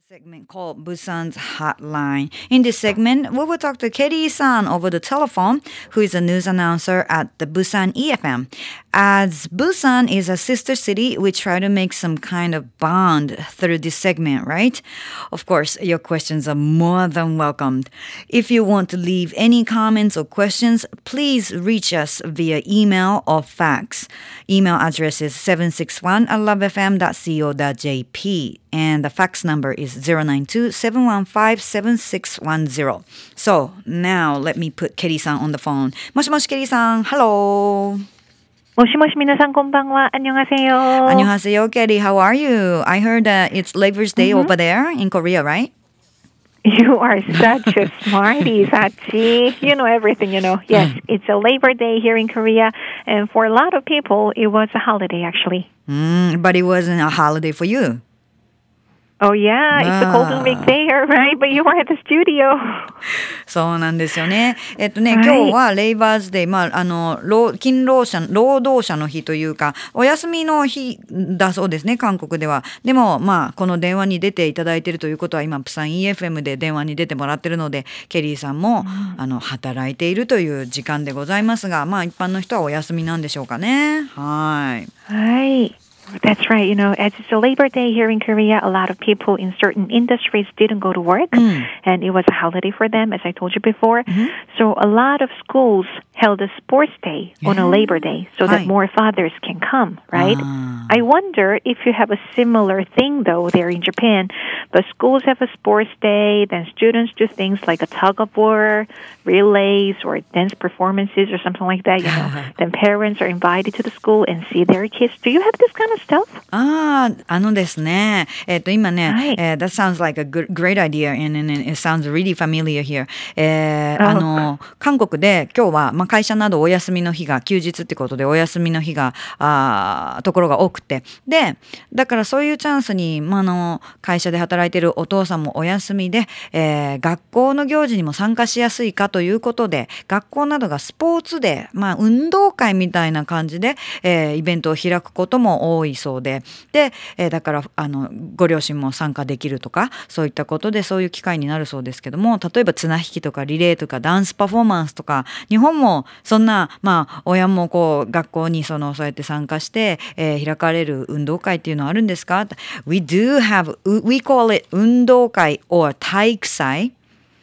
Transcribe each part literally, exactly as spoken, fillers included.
segment called Busan's Hotline. In this segment, we will talk to Kelly-san over the telephone, who is a news announcer at the Busan E F M. As Busan is a sister city, we try to make some kind of bond through this segment, right? Of course, your questions are more than welcomed. If you want to leave any comments or questions, please reach us via email or fax. Email address is seven six one at love f m dot co dot j p. And the fax number is zero nine two, seven one five, seven six one zero. So now let me put Kelly-san on the phone. 모시모시 Kelly-san, hello. 모시모시 미나상 곤방와 안녕하세요. 안녕하세요, Kelly. How are you? I heard that it's Labor's Day mm-hmm. over there in Korea, right? You are such a smarty, Sachi. You know everything, you know. Yes, it's a Labor Day here in Korea. And for a lot of people, it was a holiday, actually. Mm, but it wasn't a holiday for you. Oh, yeah. It's a Golden Week there, right? But you were at the studio. そうなんですよね。えっとね、今日はレイバーズデー、まあ、あの、労勤労者、労働者の日というか、お休みの日だそうですね、韓国では。でも、まあ、この電話に出ていただいているということは、今、プサン イーエフエム で電話に出てもらっているので、ケリーさんも、うん、あの、働いているという時間でございますが、まあ、一般の人はお休みなんでしょうかね。はい。 はい。That's right. You know, as it's a Labor Day here in Korea, a lot of people in certain industries didn't go to work, mm. and it was a holiday for them, as I told you before. Mm-hmm. So a lot of schools held a sports day yeah. on a Labor Day so that Hi. more fathers can come, right? Ah. I wonder if you have a similar thing, though, there in Japan. But schools have a sports day, then students do things like a tug-of-war, relays, or dance performances or something like that, you know. Then parents are invited to the school and see their kids. Do you have this kind of stuff? ああ、あのですね。えっと、今ね、はいえー、that sounds like a good, great idea and, and it sounds really familiar here. えー、あの、韓国で今日は、まあ、会社などお休みの日が、休日ってことでお休みの日が、あところが多くて。で、だからそういうチャンスに、まあ、あの、会社で働いてるお父さんもお休みで、えー、学校の行事にも参加しやすいかということで、学校などがスポーツで、まあ、運動会みたいな感じで、えー、イベントを開くことも多いそうで、で、えー、だからあのご両親も参加できるとかそういったことでそういう機会になるそうですけども、例えば綱引きとかリレーとかダンスパフォーマンスとか、日本もそんなまあ親もこう学校にそのそうやって参加して、えー、開かれる運動会っていうのはあるんですか？ We do have, we call it 運動会 or 体育祭。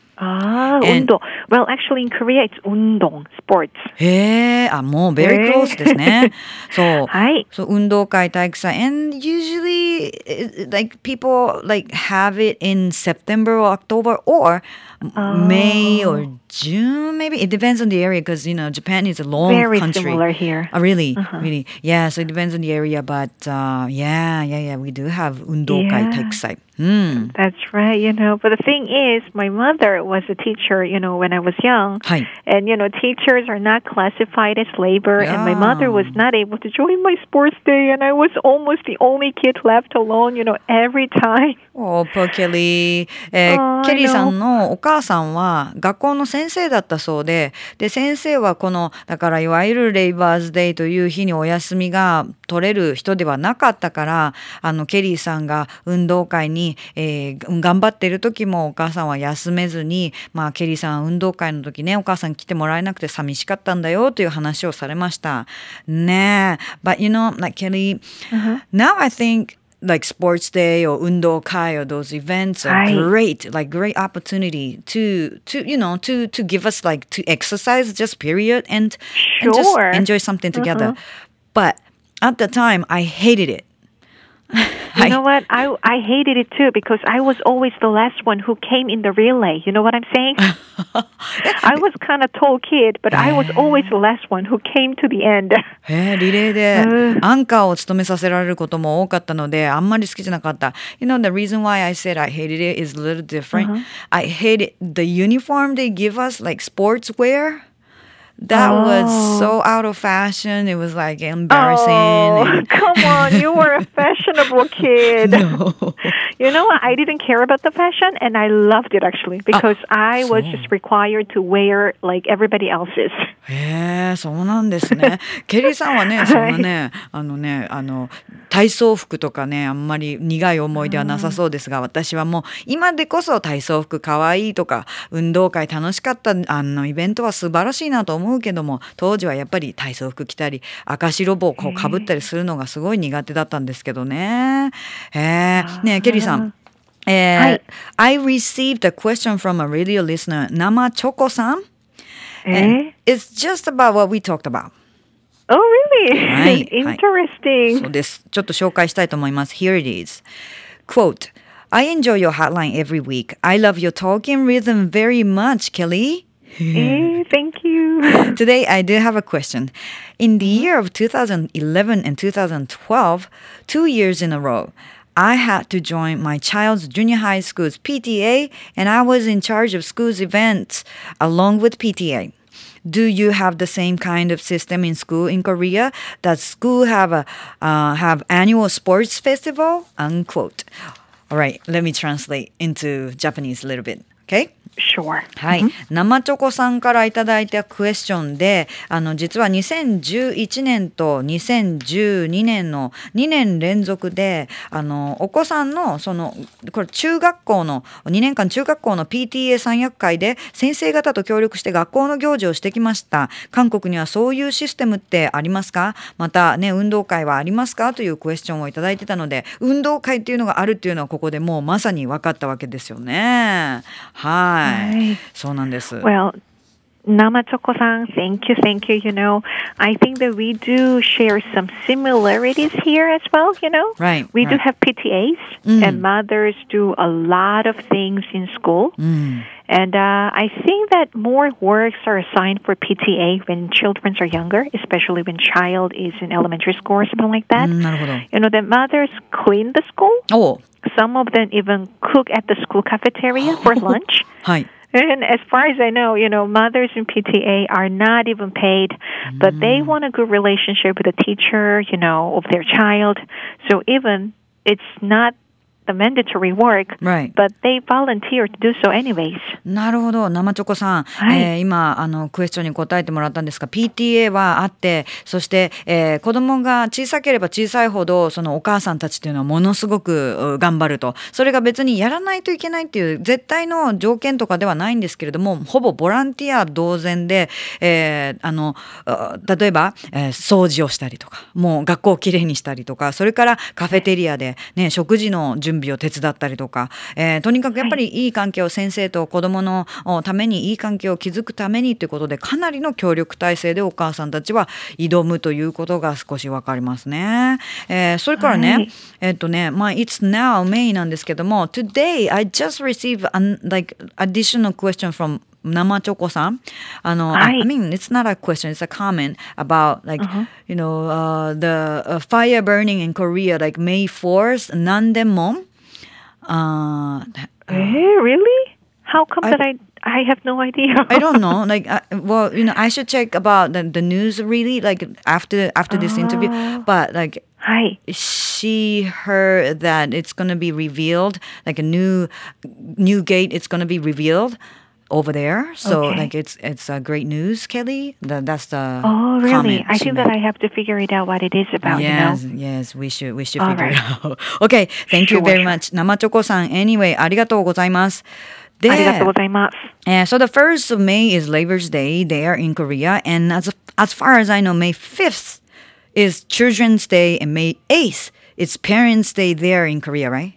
Ah, 운동. Well, actually in Korea it's 운동, sports. へえ、あ、もう very close ですね。そう。はい。そう、運動会、体育祭。And usually, like, people, like, have it in September or October or oh. May or June, maybe. It depends on the area because, you know, Japan is a long very country. Very similar here. Oh, really? Uh-huh. Really? Yeah, so it depends on the area. But, uh, yeah, yeah, yeah, we do have 運動会、体育祭。Mm. That's right, you know. But the thing is, my mother was a teacher, you know, when I was young. Hi. And, you know, teachers are not classified as labor. Yeah. And my mother was not able to join my sports day. And I was almost the only kid left alone, you know, every time. Oh, poor Kelly. えー、ケリーさんのお母さんは学校の先生だったそうで、で、先生はこの、だからいわゆるレイバーズデーという日にお休みが取れる人ではなかったから、あの、ケリーさんが運動会にえー、頑張っている時もお母さんは休めずに、まあ、ケリーさん運動会の時ねお母さん来てもらえなくて寂しかったんだよという話をされましたね。But you know, like Kelly, uh-huh. now I think like sports day or 運動会 or those events are right. great, like great opportunity to, to, you know, to, to give us like to exercise just period and, sure. and just enjoy something together. Uh-huh. But at the time, I hated it. You know what? I I hated it too because I was always the last one who came in the relay. You know what I'm saying? I was kind of tall kid, but I was always the last one who came to the end. へえ、リレーでアンカーを務めさせられることも多かったので、あんまり好きじゃなかった。You know, the reason why I said I hated it is a little different. Uh-huh. I hated the uniform they give us, like sports wear. That oh. was so out of fashion. It was like embarrassing. Oh, and... come on. You were a fashionable kid. No. You know what? I didn't care about the fashion, and I loved it actually because I was just required to wear like everybody else's. へえ、そうなんですね。ケリーさんはね、そんなね、あのね、あの体操服とかね、あんまり苦い思い出はなさそうですが、私はもう今でこそ体操服かわいいとか、運動会楽しかったあのイベントは素晴らしいなと思うけども、当時はやっぱり体操服着たり、赤白帽をこうかぶったりするのがすごい苦手だったんですけどね。へえ、ね、ケリーさん。えー、はい、I received a question from a radio listener, 生チョコさん。And it's just about what we talked about. Oh, really? はい、 Interesting. はい、そうです。ちょっと紹介したいと思います。Here it is. Quote, I enjoy your hotline every week. I love your talking rhythm very much, Kelly. Hey, thank you. Today, I do have a question. In the year of two thousand eleven and two thousand twelve, two years in a row, I had to join my child's junior high school's P T A, and I was in charge of school's events along with P T A. Do you have the same kind of system in school in Korea? Does school have a uh, have annual sports festival? Unquote. All right, let me translate into Japanese a little bit. Okay? Sure. はい、生チョコさんからいただいたクエスチョンで、あの実はにせんじゅういちねんとにせんじゅうにねんのにねん連続で、あのお子さんのそのこれ中学校のにねんかん中学校の ピーティーエー 三役会で先生方と協力して学校の行事をしてきました。韓国にはそういうシステムってありますか？またね、運動会はありますか？というクエスチョンをいただいてたので、運動会っていうのがあるっていうのはここでもうまさに分かったわけですよね。はい。そうなんです。 Well, Nama Choko-san, thank you, thank you. You know, I think that we do share some similarities here as well, you know. Right. We right. do have P T As, mm. and mothers do a lot of things in school. Mm. And uh, I think that more works are assigned for P T A when children are younger, especially when child is in elementary school or something like that. Mm, you know, the mothers clean the school. Oh. Some of them even cook at the school cafeteria for lunch. はい。 And as far as I know, you know, mothers in P T A are not even paid, but mm. they want a good relationship with the teacher, you know, of their child. So even it's not the mandatory work, right. but they volunteer to do so anyways. なるほど、生チョコさん、はい、えー、今あのクエスチョンに答えてもらったんですが、 ピーティーエー はあって、そして、えー、子供が小さければ小さいほどそのお母さんたちっていうのはものすごく頑張ると、それが別にやらないといけないっていう絶対の条件とかではないんですけれども、ほぼボランティア同然で、えー、あの例えば、えー、掃除をしたりとか、もう学校をきれいにしたりとか、それからカフェテリアで、ね、食事の準備を手伝ったりとか、えー、とにかくやっぱりいい関係を、先生と子どものためにいい関係を築くためにということで、かなりの協力体制でお母さんたちは挑むということが少しわかりますね。えー、それからね、はい、えっとね、まあ It's now May なんですけども、 Today I just received an, like additional question from Nama Choko-san. あの、はい、I mean, it's not a question, it's a comment about like, uh-huh. you know, uh, the uh, fire burning in Korea, like May fourth, Nandemon. Uh, uh, really? How come I, that I I have no idea? I don't know. Like, uh, well, you know, I should check about the, the news really, like after after this oh. interview. But like, Hi. she heard that it's gonna be revealed, like a new new gate. It's gonna be revealed over there. So okay. like it's it's a great news, Kelly. The, that's the oh really? I think made. that I have to figure it out what it is about. Yes, you know? yes, we should we should All figure right. it out. Okay, thank sure, you very sure. much, 生チョコさん。Anyway, ありがとうございます。 ありがとうございます。 Uh, so the first of May is Labor's Day there in Korea, and as as far as I know, May fifth is Children's Day, and May eighth is Parents' Day there in Korea, right?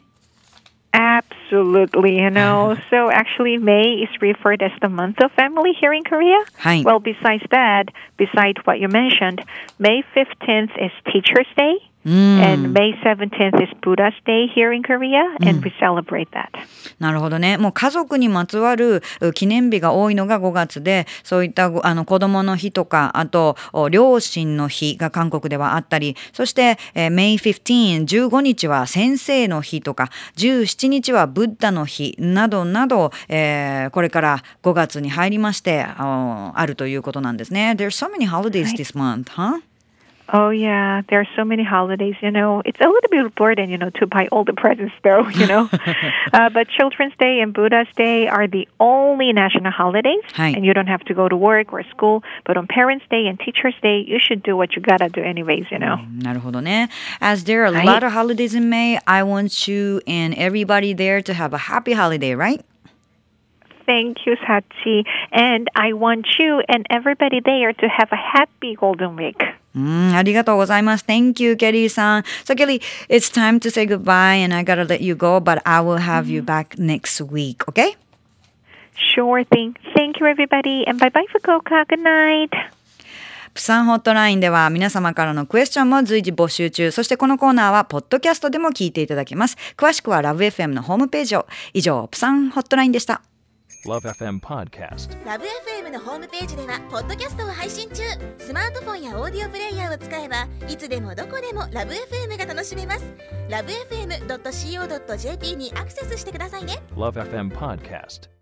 Absolutely, you know. So actually, May is referred as the month of family here in Korea. Hi. Well, besides that, besides what you mentioned, May fifteenth is Teacher's Day. Mm. And May seventeenth is Buddha's Day here in Korea, and、mm. we celebrate that. なるほどね。もう家族にまつわる記念日が多いのがごがつで、そういったあの子供の日とか、あと両親の日が韓国ではあったり、そして、えー、May fifteenth、じゅうごにちは先生の日とか、じゅうしちにちはブッダの日などなど、えー、これからごがつに入りまして、あ, あるということなんですね。There's so many holidays this month, huh? Oh, yeah. There are so many holidays, you know. It's a little bit of burden, you know, to buy all the presents, though, you know. uh, but Children's Day and Buddha's Day are the only national holidays, and you don't have to go to work or school. But on Parents' Day and Teachers' Day, you should do what you gotta do anyways, you know. なるほどね。As there are a lot of holidays in May, I want you and everybody there to have a happy holiday, right? Thank you, Sachi. And I want you and everybody there to have a happy Golden Week. うん、ありがとうございます。Thank you, Kelly さん。So, Kelly, it's time to say goodbye and I gotta let you go, but I will have you back next week, okay? Sure thing. Thank you, everybody. And bye-bye, Fukuoka. Good night. プサンホットラインでは皆様からのクエスチョンも随時募集中。そしてこのコーナーはポッドキャストでも聞いていただけます。詳しくはラブ エフエム のホームページを。以上、プサンホットラインでした。 ラブ エフエム Podcast。 ラブ エフエム のホームページではポッドキャストを配信中。スマートフォンやオーディオプレイヤーを使えばいつでもどこでもラブ エフエム が楽しめます。ラブ エフエムドットシーオードットジェーピー にアクセスしてくださいね。 ラブ エフエム Podcast。